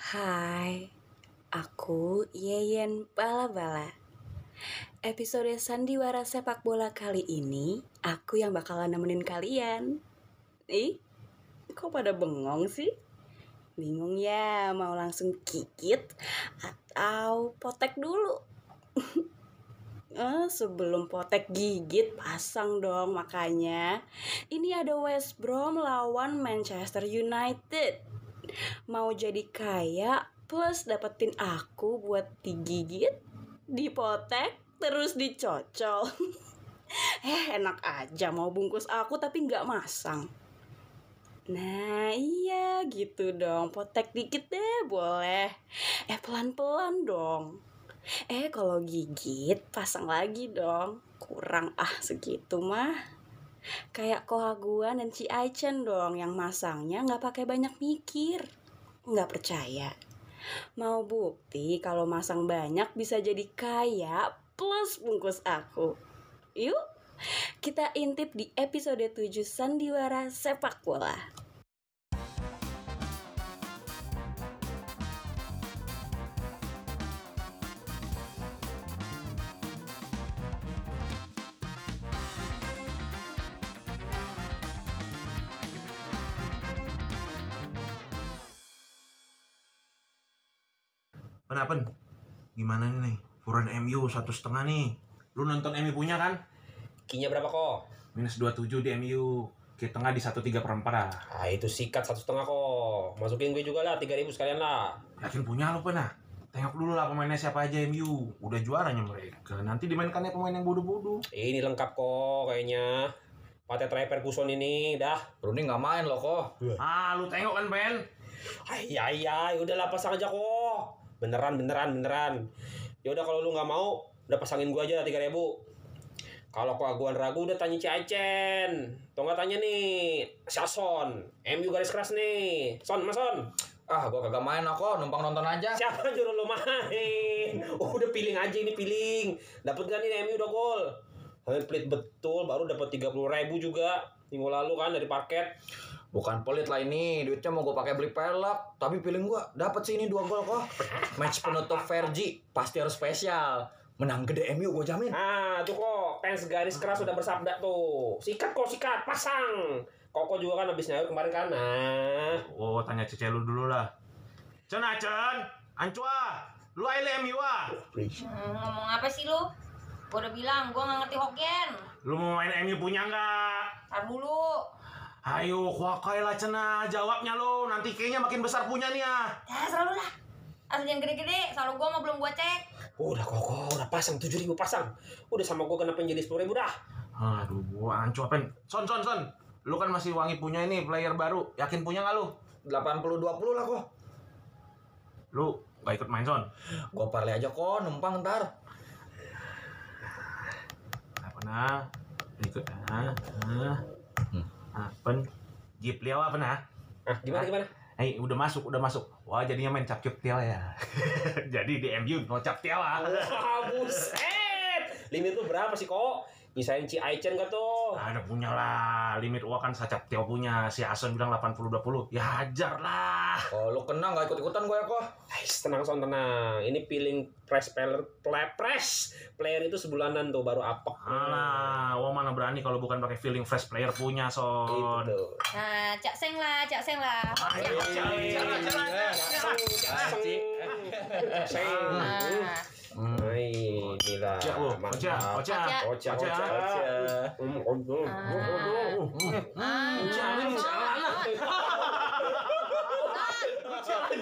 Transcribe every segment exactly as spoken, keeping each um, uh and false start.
Hai, aku Yeyen Bala-Bala. Episode Sandiwara Sepak Bola kali ini, aku yang bakalan nemenin kalian. Ih, kok pada bengong sih? Bingung ya, mau langsung kikit atau potek dulu? Eh, sebelum potek gigit, pasang dong makanya. Ini ada West Brom lawan Manchester United. Mau jadi kaya plus dapetin aku buat digigit, dipotek, terus dicocol. Eh, enak aja mau bungkus aku tapi nggak masang. Nah iya gitu dong, potek dikit deh boleh. Eh pelan-pelan dong. Eh kalau gigit pasang lagi dong. Kurang ah segitu mah. Kayak Kohaguan dan Ci Aichen dong yang masangnya nggak pakai banyak mikir. Nggak percaya? Mau bukti kalau masang banyak bisa jadi kaya plus bungkus aku. Yuk, kita intip di episode tujuh Sandiwara Sepak Bola. Kenapa? Gimana nih? Furan M U satu setengah nih. Lu nonton M U punya kan? Kinya berapa kok? Minus dua puluh tujuh di M U. Ki tengah di satu tiga per empat lah. Ah itu sikat satu setengah kok. Masukin gue juga lah tiga ribu sekalian lah. Yakin punya lu pernah? Tengok dulu lah pemainnya siapa aja M U. Udah juaranya mereka. Nanti dimainkannya pemain yang bodoh-bodoh. Ini lengkap kok kayaknya. Pate Trey Ferguson ini dah. Rooney nggak main loh kok. Ah lu tengok kan Ben? Iya iya, udahlah pasang aja kok. Beneran beneran beneran. Ya udah kalau lu nggak mau, udah pasangin gue aja tiga ribu. Kalau keaguan ragu udah tanya Ci Aichen. Tuh nggak tanya nih, Sason. M U garis keras nih. Son, Mas Son. Ah, gua kagak main kok, numpang nonton aja. Siapa nyuruh lu main? Oh, udah piling aja ini piling. Dapat gak nih M U udah gol? Kalian pelit betul, baru dapat tiga puluh ribu juga minggu lalu kan dari parket. Bukan pelit lah ini, duitnya mau gua pakai beli pelek. Tapi feeling gua dapat sih ini dua gol kok. Match penutup Vergi pasti harus spesial. Menang gede M U gua jamin. Ah, tuh kok fans garis keras sudah bersabda tuh. Sikat kok sikat, pasang. Koko juga kan habis nyawa kemarin kan. Nah. Oh tanya Cece lu dulu lah. Cen Acen, Ancua, lu aile M U ah. Hmm, ngomong apa sih lu? Gua udah bilang gua nggak ngerti Hokkien. Lu mau main M U punya nggak? Tar dulu. Ayo, kuakai lah cena, jawabnya lo. Nanti kayaknya makin besar punya nih ya. Ya selalu lah. Asal jangan gede-gede, soalnya gua mah belum gua cek. Udah kok, udah pasang tujuh ribu pasang. Udah sama gua kenapa jadi sepuluh ribu dah. Aduh, gua ancu apen. Son, son, son. Lu kan masih wangi punya ini player baru. Yakin punya nggak lu? delapan puluh dua puluh lah kok. Lu nggak ikut main son? Gua parley aja kok, numpang ntar. Apa nah? Ikut ah. Ah. Apen. Gip liao apa nah? Ah, gimana gimana? Hei, udah masuk, udah masuk. Wah, jadinya main cap-cap tial ya. Jadi di M U mau cap tial ah. Wah, buset. Limit lu berapa sih kok? Misain Ci Aichen gak tuh? Ada punya lah. Limit gua kan sacap tial punya. Si Ason bilang delapan puluh dua puluh. Ya hajar lah. Oh, lu kena nggak ikut-ikutan gue ya kok. Ais, tenang son tenang. Ini peeling press player, play press player itu sebulanan tuh baru apek. Alah, wah mana berani kalau bukan pakai feeling fresh player punya son. Gitu. Nah, cak seng lah, cak seng lah. Ayo, jangan, jangan, Seng. Nah, Hai, inilah. Oca, oh, Oca, Oca, Oca, Oca, Oca. Hmm, oh, oh, oh, oh. ah, Jangan, Son, jangan.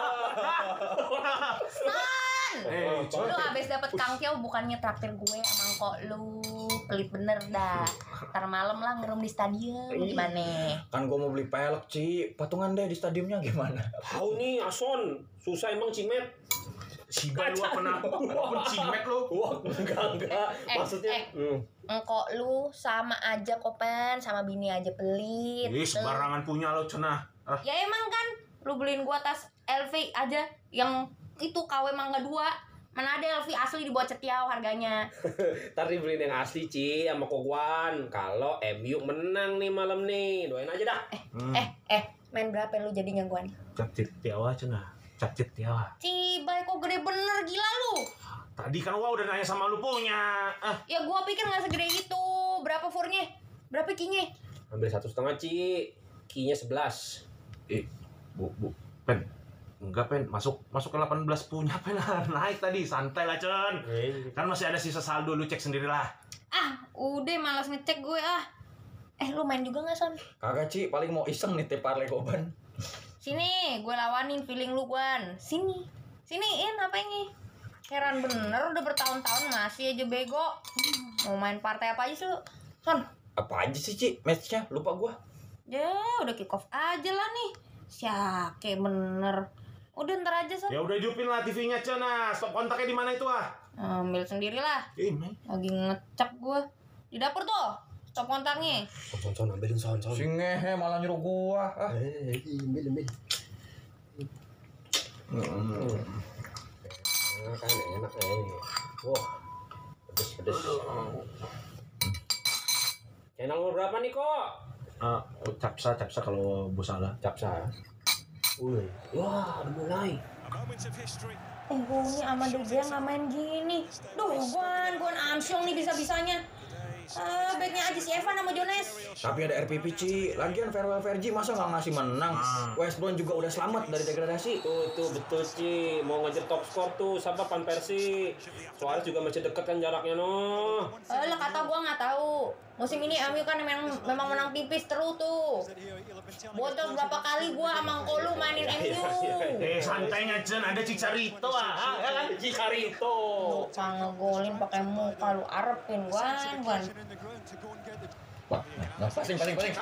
Son. Eh, Lu abis dapet kangkeo bukannya traktir gue emang kok lu pelit bener dah. Ntar malam lah ngerum di stadion gimana? Kan gua mau beli pelek, Ci. Patungan deh di stadiumnya gimana? Tahu nih, Ason. Susah emang Cimet. Si Bay lu apa nah? Walaupun cimet lu. Wah, enggak enggak. Eh, Maksudnya, eh. hmm. Engkok lu sama aja kopen, sama bini aja pelit. Ih, sembarangan punya lo cenah. Ah, Ya emang kan, lu beliin gua tas L V aja yang itu K W Mangga dua. Mana ada L V asli di bawah cetiau harganya. Ntar dibeliin yang asli Ci sama Koguan. Kalau M U menang nih malam nih, doain aja dah. Eh, Hmm. eh, eh, main berapa lu jadinya gua nih? cap tiawa cenah. Capcit ya. Cibai kok gede bener, gila lu. Tadi kan gua udah nanya sama lu punya. Ah, Ya gua pikir nggak segede itu. Berapa furnya? Berapa kinya? Ambil satu setengah Ci. Kinya sebelas. eh, bu, bu, pen. Enggak, pen. Masuk masuk ke delapan belas punya, pen. Naik tadi, santai lah, Cen. Kan masih ada sisa saldo, lu cek sendirilah. Ah, udah malas ngecek gue ah. Eh, lu main juga nggak, Son? Kagak, Ci, paling mau iseng nih parlay Goban. Sini, gue lawanin feeling lu, Gwan. Sini. Siniin apa ini? Heran bener udah bertahun-tahun masih aja bego. Hmm, mau main partai apa aja sih lu? Son. Apa aja sih, Ci? Match-nya lupa gua. Ya, udah kick off aja lah nih. Syake bener. Udah ntar aja, Son. Ya udah hidupin lah T V-nya, Cen. Nah, stop kontaknya di mana itu ah? Ambil sendirilah. Eh, main. Lagi ngecek gue. Di dapur tuh. Stop kontaknya. Son, son, ambilin son, son. Si ngehe malah nyuruh gua. Ah. Eh, ambil, ambil. Hmm. Nah, kan enak eh. Wah. Pedes, pedes. Channel nomor berapa nih, kok? Ah, oh, capsa, capsa kalau bos salah. Capsa. Wih. Wah, udah mulai. Eh, gue sama De Gea nggak main gini. Duh, Gwan, Gwan Armstrong nih bisa-bisanya. Ah, baiknya aja si Evan sama Jones. Tapi ada R P P, Ci. Lagian farewell Fergie masa nggak ngasih menang? West Brom juga udah selamat dari degradasi. Tuh, tuh betul Ci. Mau ngejar top skor tuh siapa Van Persie. Suarez juga masih deket kan jaraknya no. Eh, lah kata gue nggak tahu. Musim ini M U kan memang memang menang tipis terus tuh. Bocor berapa kali gue sama Kolu mainin M U. Eh, santainya, Cen. Ada Cicarito ah. Ya kan? Cicarito. Lupa ngegolin pakai muka lu arepin Gwan, Gwan. Wah, nah, passing, passing, passing.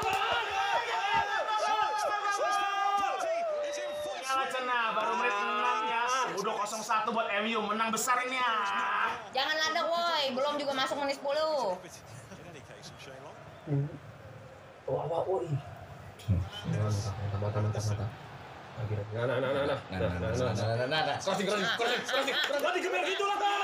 Kalah, Cen. Nah, baru menit enam ya. Udah nol satu buat M U. Menang besar ini ya. Jangan ladek woi, belum juga masuk menit sepuluh. Wah, wah, woi. Mata, mata, mata, mata. Nah, nah, nah, nah, nah, Nah, nah, nah, nah, nah, nah, nah, crossing, crossing, crossing, crossing, crossing. Gak digeber gitu lah, kan.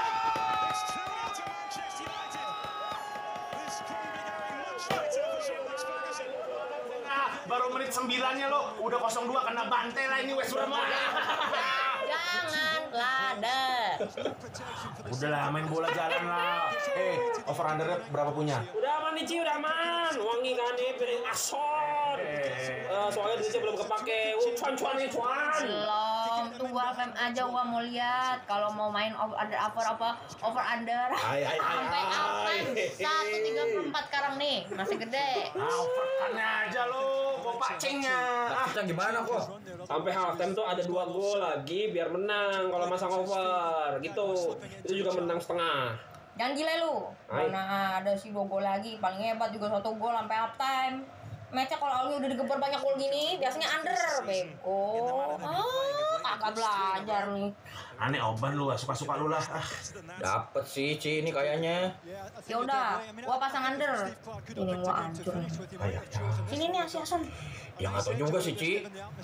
Nah, baru menit sembilannya lo. Udah nol dua kena bantai lah ini West Brom. Jangan ladek. Udahlah, main bola jalan lah. Eh, over undernya berapa punya? Udah aman nih, Ci, udah aman. Wangi kan nih, piring asor. Eh, soalnya duitnya belum kepake. Uh, cuan, cuan nih, cuan. Belum, tunggu F M aja gua mau lihat kalau mau main over under over apa over under. Hai, hai, hai, Sampai hai. halftime satu tiga puluh empat sekarang nih, masih gede. Ah, overkannya aja lo. Gua pacingnya. Ah, Kita gimana kok? Sampai halftime tuh ada dua gol lagi biar menang kalau masang over gitu. Itu juga menang setengah. Jangan gila lu. Hai. Mana ada sih dua gol lagi, paling hebat juga satu gol sampai halftime. Match-nya kalau Alwi udah digeber banyak gol gini, biasanya under, bego. Ah, kagak belajar nih. aneh oban lu, suka-suka lu lah. Ah. Dapet sih, Ci, ini kayaknya. Ya udah, gua pasang under. Ini gua hancur. Sini nih Asiasan. Ya nggak tahu juga sih, Ci.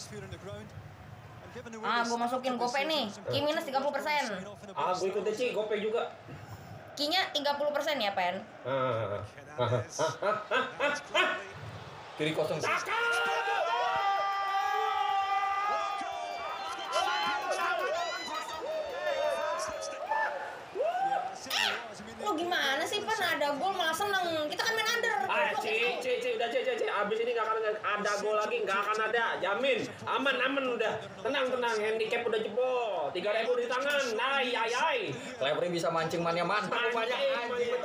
Ah, gua masukin gope nih. Ki minus tiga puluh persen. Ah, gue ikut deh, Ci, gopay juga. Kinya tiga puluh persen ya, Pen? Ah, ah, ah, ah, ah, ah. Kiri kosong. Lo gimana sih, Pen? Ada gol malah seneng. Kita kan main under. Ah, Ci, Ci, Ci, udah, Ci, Ci, Ci. Abis ini gak akan ada gol lagi, gak akan ada. Jamin. Aman, aman udah. Tenang, tenang. Handicap udah jebol. tiga ribu di tangan. Ay, ay, ay. Clevery bisa mancing mania mantap banyak anjing.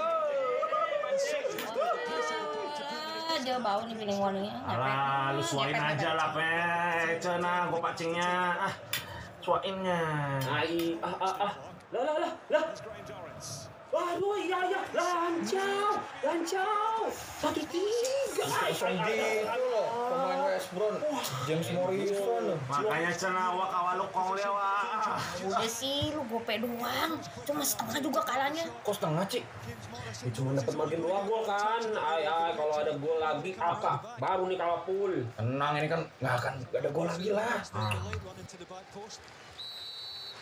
Aja bau nih feeling warningnya. Alah, lu suain aja lah, Pe. Cena, gua pacingnya. Ah, suainnya. Ay, ah, ah, ah. Lah, lah, lah, lah. Waduh, iya, iya. Lancau, lancau. Satu tiga. Ay, Kosong ay, ay, ay, gitu loh. Pemain West Brom. James Morrison. Makanya Cena, wa kawaluk kong lewa. Udah sih, lu gope doang. Cuma setengah juga kalahnya. Kok setengah, Ci? Ya, cuma dapat margin dua gol kan. Ay, ay, kalau ada gol lagi apa? Baru nih kalau full. Tenang, ini kan nggak akan nggak ada gol lagi lah.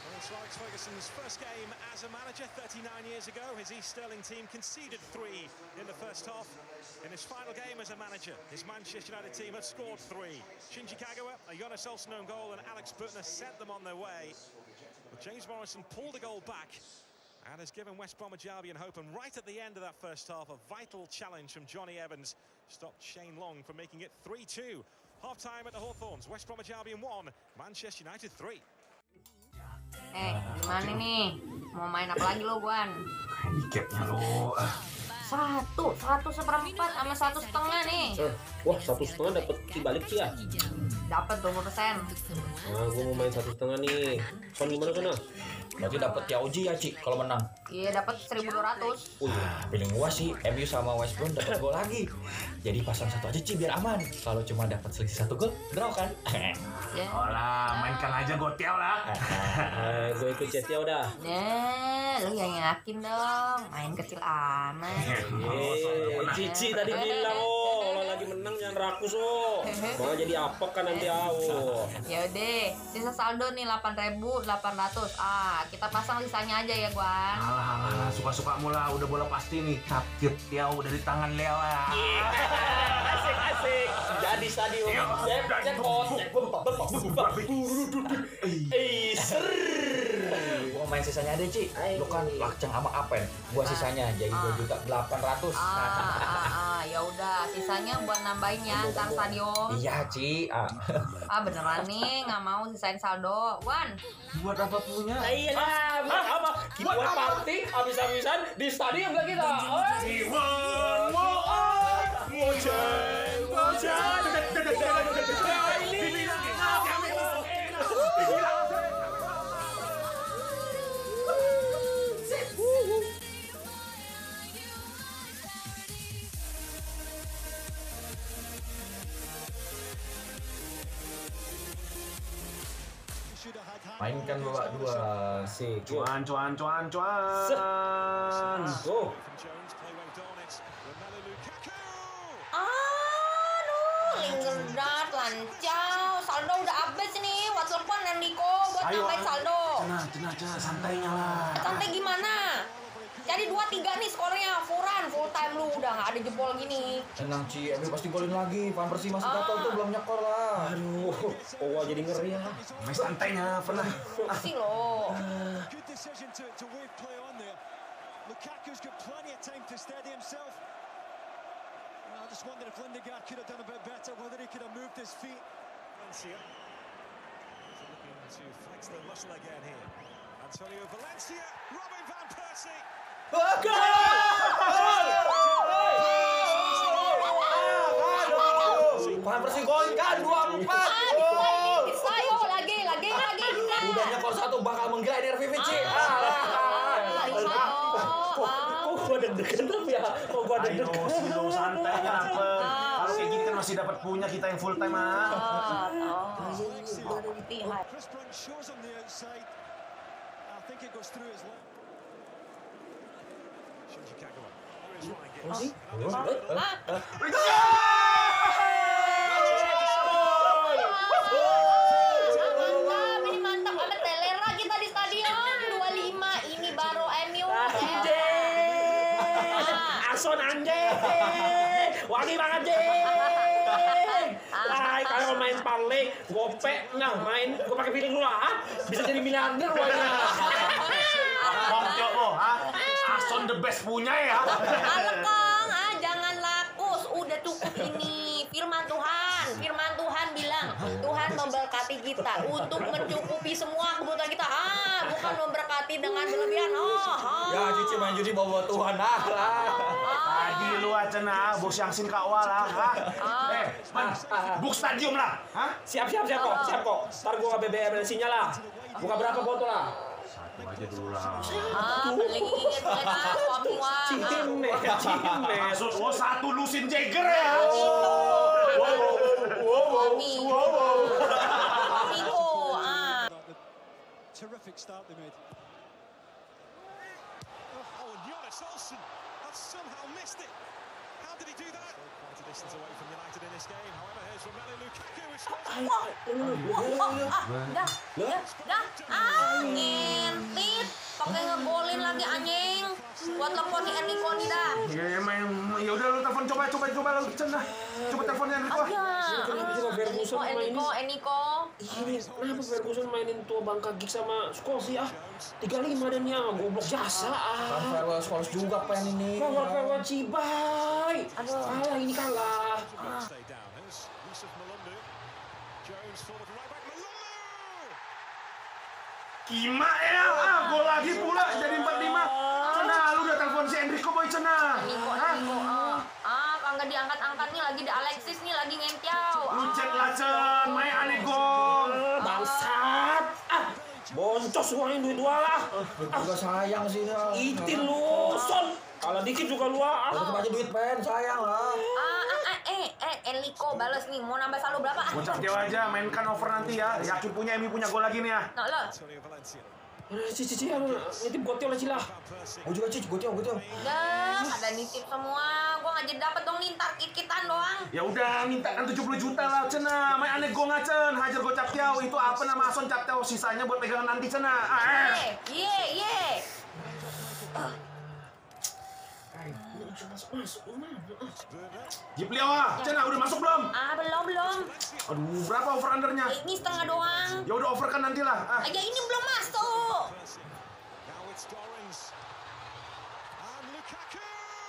It's Alex Ferguson's first game as a manager thirty-nine years ago. His East Stirling team conceded three in the first half. In his final game as a manager, his Manchester United team had scored three. Shinji Kagawa, a Jonas Olsson own goal, and Alex Butner sent them on their way. But James Morrison pulled the goal back and has given West Bromwich Albion hope. And right at the end of that first half, a vital challenge from Johnny Evans stopped Shane Long from making it three two. Half-time at the Hawthorns. West Bromwich Albion one, Manchester United three. Eh, gimana nih? Mau main apa lagi lo, Guan? Handicapnya lo. Satu, satu seperempat sama satu setengah nih. Eh, wah satu setengah dapat dibalik sih ya. Dapat dua puluh persen. Nah, gue mau main satu setengah nih. Kon gimana sana? Berarti dapat Yauji ya, Ci, kalau menang. Iya, dapat seribu dua ratus. Nah, feeling gua sih M U sama West Brom dapat gol lagi. Jadi pasang satu aja, Ci, biar aman. Kalau cuma dapat selisih satu gol, draw kan? Ya. Oh lah, mainkan aja Gotiao lah. Eh, gue ikut Cetia udah. Nah, lu yang yakin dong. Main kecil amat. Eh, Cici tadi bilang oh, kalau lagi menang jangan rakus oh. Malah jadi apok kan nanti au. Ya udah, sisa saldo nih delapan ribu delapan ratus. Ah, kita pasang sisanya aja ya, Guan. Alah, alah, suka-suka mula, udah bola pasti nih. Capit Tiao dari tangan Leo ya. Asik asik. Jadi stadion. Cek cek pot. Eh, ser. Gua main sisanya aja, Ci. Lu kan lakcang sama Apen. Gua sisanya jadi dua juta delapan ratus. Ah, ah, ah, ya udah, sisanya buat nambahin ya ntar stadion. Iya, Ci. Ah. Ah, beneran nih, nggak mau sisain saldo, Wan. Buat apa punya? Nah, iya lah, buat apa? Kita buat party habis-habisan di stadion gak kita? Mainkan babak dua. Asik. Cuan, cuan, cuan, cuan. Oh. Aduh, Lingard, lancau. Saldo udah habis nih. Buat telepon Nandiko buat Ayo, nambahin saldo. Cenah, cenah, cenah, santainya lah. Santai gimana? Jadi dua tiga nih skornya. Furan, full time lu. Udah nggak ada jebol gini. Tenang, Ci, M U pasti golin lagi. Van Persie masih gatal tuh, belum nyekor lah. Aduh, oh gua jadi ngeri ya. Main santainya, pernah. Sih lo. Good decision to, to wave play on there. Lukaku's got plenty of time to steady himself. I just wonder if Lindegaard could have done a bit better, whether he could have moved his feet. Valencia is looking to flex the muscle again here. Antonio Valencia, Robin van Persie. Van Persie gol kan dua empat. Bisa yo, lagi, lagi, lagi. Udah nyekor satu bakal menggila R V V, Ci. Kok gua deg-degan tapi ya? Kok gua Ayo, deg-degan? silo, santainya apa? Kalau kayak gini kan masih dapat punya kita yang full time ah. Chris Brunt shows on the outside. I think it goes through his leg. Shinji Kagawa. There is Ryan Giggs. Mantap, ini mantap banget. Telera kita di stadion dua puluh lima. Ini baru M U. Ason anjing. Wangi banget anjing. Wah, kalau main parlay, gope, nah main, gua pakai feeling lu lah, bisa jadi miliarder wajah. Kongco lo, ha? Ason the best punya ya. Halo Kong, ah jangan lakus, udah cukup ini. Firman Tuhan, firman Tuhan bilang Tuhan memberkati kita untuk mencukupi semua kebutuhan kita. Ah, bukan memberkati dengan berlebihan. Oh, oh. Ya, Cici main judi bawa Tuhan ah lah. Tadi lu aja nah, bos yang sin kawal lah, ha? Eh, man, book stadium lah, ha? Siap siap siap kok, siap kok. Ntar gua B B M sinyal lah. Buka berapa botol lah? Satu aja dulu lah. Ah, beli inget lah suami wah. Cimet, cimet. Maksud lo satu Lucien Jagger ya? Suami. Suamiku, ah. Terrific start they made. Oh, and Jonas Olsson has somehow missed it. How did he do that? Quite a distance away from United in this game. However, here's Romelu Lukaku who scores. Dah, dah, dah. Ah, ngentit. Pakai ngegolin lagi anjing. Buat telepon si Enrico nih dah. Ya, ya main. Ya udah lu telepon coba coba coba lu Cen dah. Coba teleponnya Enrico. Aja. Kenapa juga Ferguson Enrico, mainin? Enrico, Enrico. Ini kenapa Ferguson mainin tua Bangka Gig sama Scholes sih ah? tiga puluh lima dan ya goblok jasa Kan ah. farewell Scholes juga pen ini. Farewell Cibai. Aduh. Kalah ini kalah. Stay down. Here's Yusuf Malundu. Jones forward right back. Malundu! Kima ya, ah, gol lagi pula jadi empat lima. Cenah, lu udah telepon si Enrico boy cenah. Enrico, Hah? Enrico. Ah, ah kagak diangkat-angkat nih lagi di Alexis nih lagi ngentiau. Lu cek lah Cen, main aneh gol. Bangsat. Ah, boncos uangin duit gua lah. Juga sayang sih. ya. Itin lu, son. Kalah dikit juga lu ah. Tetep aja duit pen, sayang lah. Ah, ah, ah, eh, eh, Enrico bales nih. Mau nambah saldo berapa? Ah, Bocah Jawa aja, mainkan over nanti ya. Yakin punya Emi punya gol lagi nih ya. nah, lo. Antonio Valencia. Cici cici nitip goteo lah cilah. Gue juga cic, gue tiap, gue tiap. Dah, ada nitip semua. Gua nggak jadi dapet dong nih, ntar kit-kitan doang. Ya udah, mintakan tujuh puluh juta lah cenah. Main aneh gol ngacen, hajar gol captiau. Itu apa nama Ason captiau, sisanya buat pegangan nanti cenah. Ah, eh. Ye, ye, ye. Masuk masuk mana? Jipliau ah, cenah udah masuk belum? Ah, belum, belum. Aduh, berapa over undernya? Ini setengah doang. Ya udah over kan nanti lah. Ah. Aja ini belum masuk. Now it's Dorrans. And Lukaku!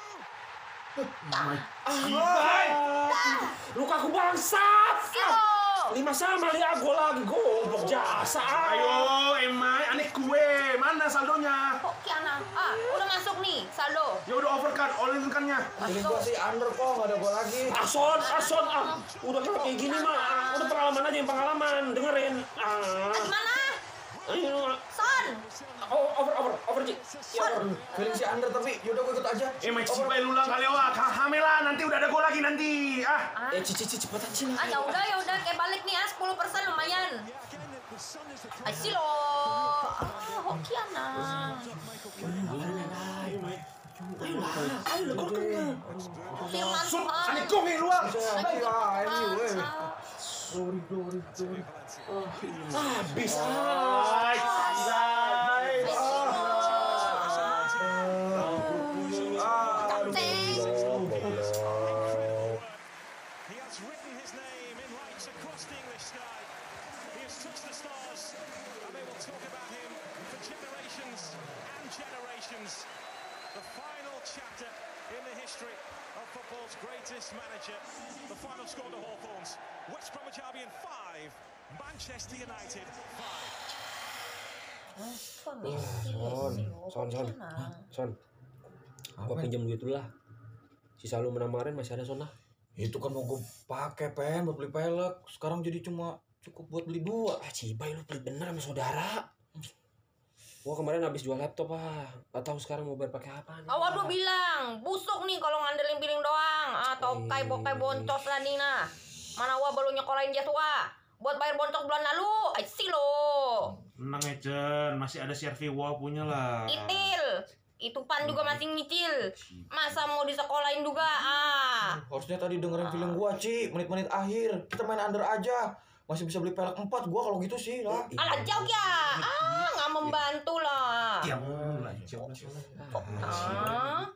Bye. Lukaku bangsat. Silo. Lima sama lihat gol lagi goblok jasa. Ayo, Emai, aneh kue. Mana saldonya? Kok Kiana? Ah, udah masuk nih saldo. Ya udah over kan, all in kan-nya. Ini gue sih under kok, gak ada gol lagi. Ason, ason ah. Udah kalau kayak gini mah, udah pengalaman aja yang pengalaman. Dengerin. Ah. Gimana? Ayo. Son. Oh, over over over Ji. Ya, over. Feeling si under tapi yaudah gue ikut aja. Emai cipai lulang kali wah. Hamela nanti udah ada gol lagi nanti. Ah. Eh, cici cici cepetan sih Ah, ya udah, ya udah kayak balik nih ya, sepuluh persen lumayan. Ay, Silo. Ah, Hokiana. Firman Sun, Tuhan. aneh gol nih luang. Sorry, sorry, sorry. Habis. Ay, ay. He has written his name in lights across the English sky. He has touched the stars, and they will talk about him for generations and generations. The final chapter in the history of football's greatest manager. The final score to Hawthorns. West Bromwich Albion five, Manchester United five. Son, son, son. Son. Gua pinjam duit dulu lah. Sisa lu menang kemarin masih ada Son lah. Itu kan mau gue pakai pen buat beli pelek. Sekarang jadi cuma cukup buat beli dua. Ah, Cibai lu pelit bener sama saudara. Gua kemarin habis jual laptop ah. Gak tahu sekarang mau bayar pakai apa nih. Awal lu bilang, busuk nih kalau ngandelin piring doang. Atau kai bokai boncos lah nih nah. Mana wa baru nyekolahin Joshua. Buat bayar boncos bulan lalu. Ay, Silo. Tenang ya Cen, masih ada Servi Wah punya lah. Itil. Itu Pan juga masih nyicil. Masa mau disekolahin juga? Ah. Harusnya tadi dengerin feeling gua, Ci. Menit-menit akhir. Kita main under aja. Masih bisa beli pelek empat. Gua kalau gitu sih lah. Alah jauh ya. Ah, nggak membantu lah. Ya mulai jauh. Ah.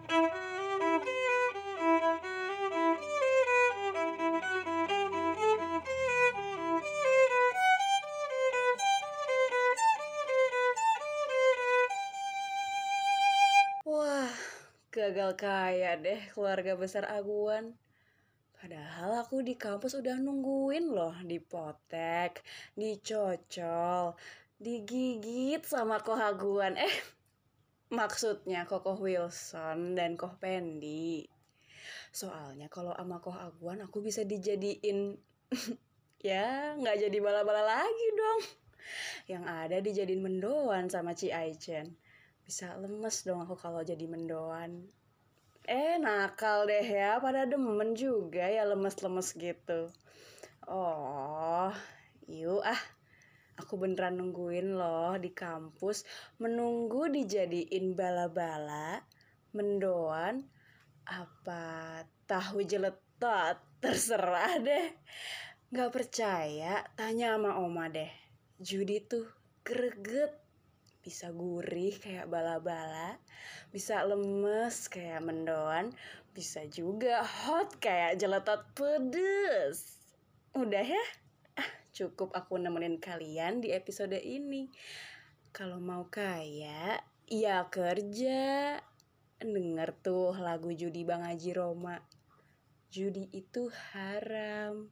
Wah, gagal kaya deh keluarga besar Aguan. Padahal aku di kampus udah nungguin loh dipotek, dicocol, digigit sama Koh Aguan. Eh, maksudnya Kokoh Wilson dan Koh Pendi. Soalnya kalau sama Koh Aguan aku bisa dijadiin, ya nggak jadi bala-bala lagi dong. Yang ada dijadiin mendoan sama Ci Aichen. Bisa lemes dong aku kalau jadi mendoan. Eh nakal deh ya, pada demen juga ya lemes-lemes gitu. Oh, yuk ah. Aku beneran nungguin loh di kampus. Menunggu dijadiin bala-bala, mendoan, Apa tahu jeletot? Terserah deh. Gak percaya, tanya sama Oma deh. Judi tuh greget. Bisa gurih kayak bala-bala, bisa lemes kayak mendoan, bisa juga hot kayak jeletot pedes. Udah ya? Ah, cukup aku nemenin kalian di episode ini. Kalau mau kaya, ya kerja. Denger tuh lagu Judi Bang Haji Roma. Judi itu haram.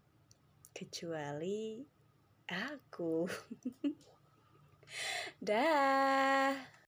Kecuali aku. Dah.